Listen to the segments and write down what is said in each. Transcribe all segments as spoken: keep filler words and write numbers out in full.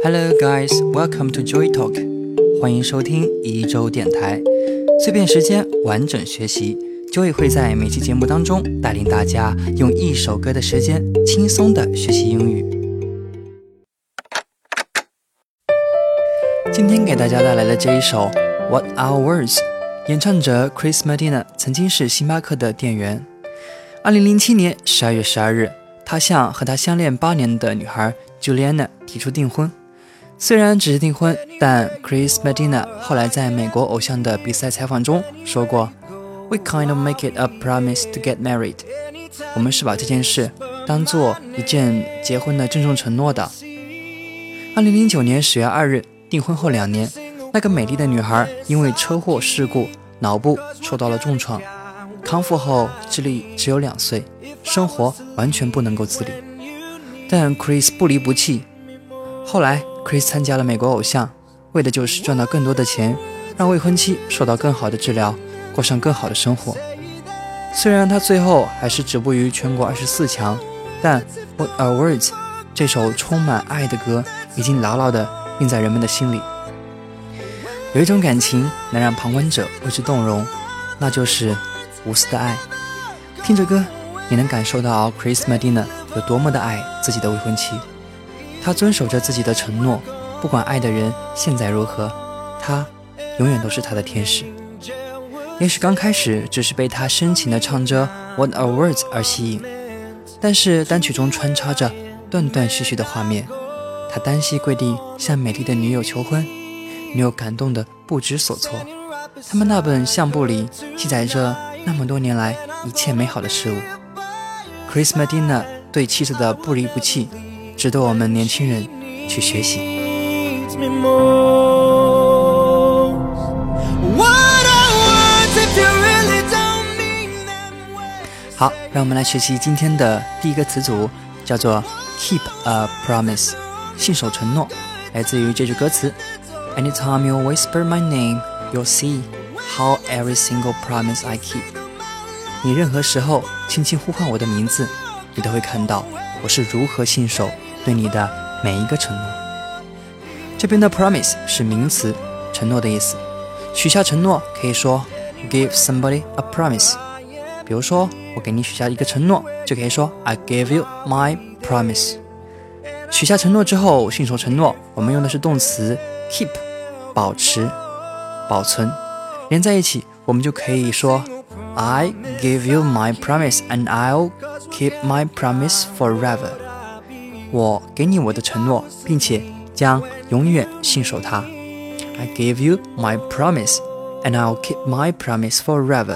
Hello guys, welcome to Joy Talk. 欢迎收听一周电台，碎片时间，完整学习。Joy 会在每期节目当中带领大家用一首歌的时间轻松的学习英语。今天给大家带来的这一首 What Are Words， 演唱者 Chris Medina 曾经是星巴克的店员。二零零七年十二月十二日，他向和他相恋八年的女孩 Juliana 提出订婚。虽然只是订婚，但 Chris Medina 后来在美国偶像的比赛采访中说过 We kind of make it a promise to get married. 我们是把这件事当做一件结婚的郑重承诺的。二零零九年十月二日，订婚后两年，那个美丽的女孩因为车祸事故脑部受到了重创，康复后智力只有两岁，生活完全不能够自理。但 Chris 不离不弃。后来 Chris 参加了美国偶像，为的就是赚到更多的钱，让未婚妻受到更好的治疗，过上更好的生活。虽然他最后还是止步于全国二十四强，但 What Are Words 这首充满爱的歌已经牢牢地印在人们的心里。有一种感情能让旁观者为之动容，那就是无私的爱。听着歌，你能感受到 Chris Medina 有多么的爱自己的未婚妻。他遵守着自己的承诺，不管爱的人现在如何，他永远都是他的天使。也许刚开始只是被他深情地唱着 What Are Words 而吸引，但是单曲中穿插着断断续续的画面，他单膝跪地向美丽的女友求婚，女友感动得不知所措。他们那本相簿里记载着那么多年来一切美好的事物。 Chris Medina 对妻子的不离不弃值得我们年轻人去学习。好，让我们来学习今天的第一个词组，叫做 Keep a Promise， 信守承诺，来自于这句歌词 Anytime you whisper my name, you'll see how every single promise I keep。 你任何时候轻轻呼唤我的名字，你都会看到我是如何信守对你的每一个承诺。这边的 promise 是名词，承诺的意思。许下承诺可以说 give somebody a promise。 比如说我给你许下一个承诺，就可以说 I gave you my promise。 许下承诺之后信守承诺，我们用的是动词 keep， 保持保存，连在一起我们就可以说 I give you my promise and I'll keep my promise forever。 我给你我的承诺，并且将永远信守它。 I give you my promise and I'll keep my promise forever。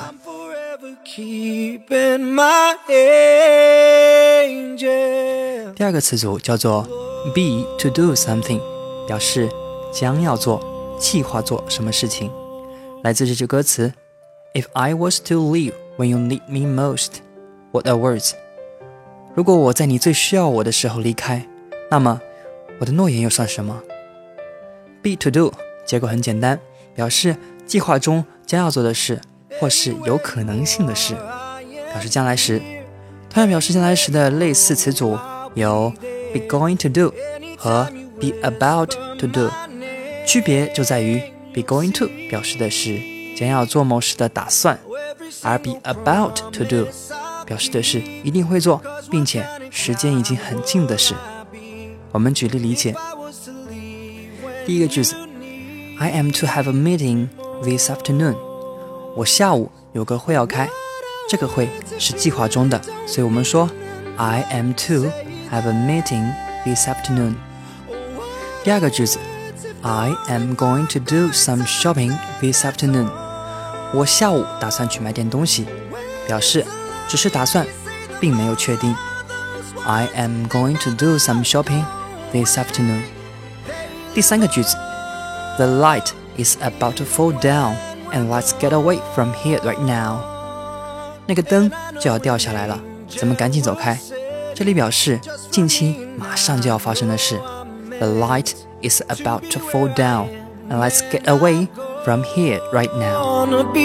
第二个词组叫做 be to do something， 表示将要做，计划做什么事情。来自这句歌词 If I was to leave when you need me most, what are words？ 如果我在你最需要我的时候离开，那么我的诺言又算什么？ Be to do 结构很简单，表示计划中将要做的事，或是有可能性的事，表示将来时。同样表示将来时的类似词组有 be going to do 和 be about to do， 区别就在于 be going to 表示的是将要做某事的打算，而 be about to do 表示的是一定会做，并且时间已经很近的事。我们举例理解。第一个句子 I am to have a meeting this afternoon。 我下午有个会要开，这个会是计划中的，所以我们说 I am to have a meeting this afternoon。 第二个句子 I am going to do some shopping this afternoon。 我下午打算去买点东西，表示只是打算，并没有确定。 I am going to do some shopping this afternoon。 第三个句子 The light is about to fall down and let's get away from here right now。 那个灯就要掉下来了，咱们赶紧走开。这里表示近期马上就要发生的事。 The light is about to fall down and let's get away from here right now。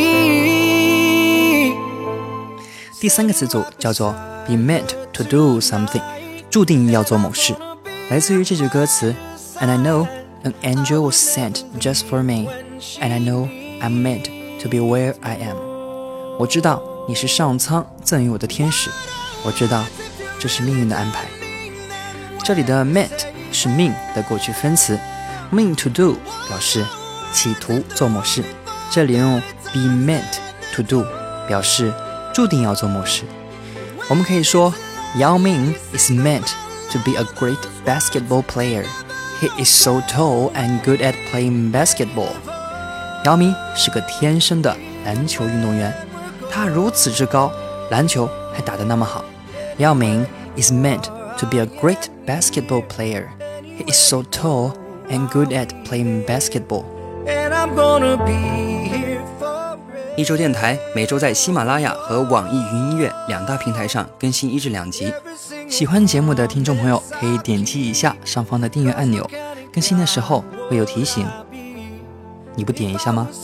第三个词组叫做 be meant to do something， 注定要做某事，来自于这句歌词 And I know an angel was sent just for me. And I know I'm meant to be where I am. 我知道你是上苍赠予我的天使，我知道这是命运的安排。这里的 meant 是 mean 的过去分词， mean to do 表示企图做某事，这里用 be meant to do 表示注定要做某事。我们可以说 Yao Ming is meant to be a great basketball player. He is so tall and good at playing basketball. 姚明是个天生的篮球运动员，他如此之高，篮球还打得那么好。Yao Ming is meant to be a great basketball player. He is so tall and good at playing basketball. And I'm gonna be here for it. 一周电台每周在喜马拉雅和网易云音乐两大平台上更新一至两集。喜欢节目的听众朋友可以点击一下上方的订阅按钮，更新的时候会有提醒。你不点一下吗？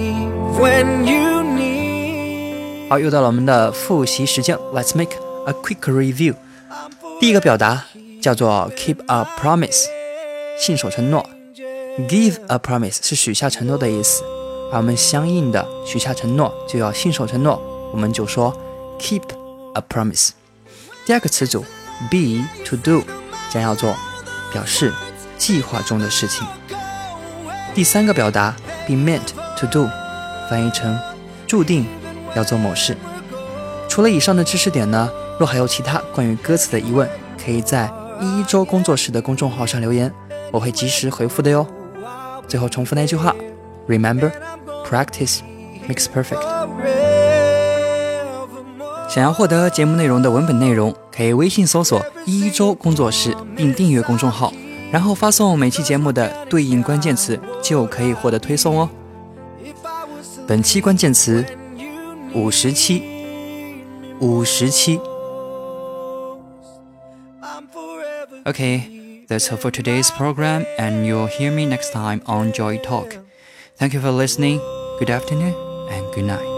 好，又到了我们的复习时间 Let's make a quick review。 第一个表达叫做 keep a promise， 信守承诺。 Give a promise 是许下承诺的意思，而我们相应的许下承诺就要信守承诺，我们就说 keep a promise。 第二个词组 be to do 将要做，表示计划中的事情。第三个表达 be meant to do 翻译成注定要做某事。除了以上的知识点呢，若还有其他关于歌词的疑问，可以在一一周工作室的公众号上留言，我会及时回复的哟。最后重复那句话 Remember, practice makes perfect。 想要获得节目内容的文本内容，可以微信搜索一一周工作室并订阅公众号，然后发送每期节目的对应关键词，就可以获得推送哦。本期关键词五十期，五十期。 Okay, that's all for today's program, and you'll hear me next time on Joy Talk. Thank you for listening, good afternoon, and good night.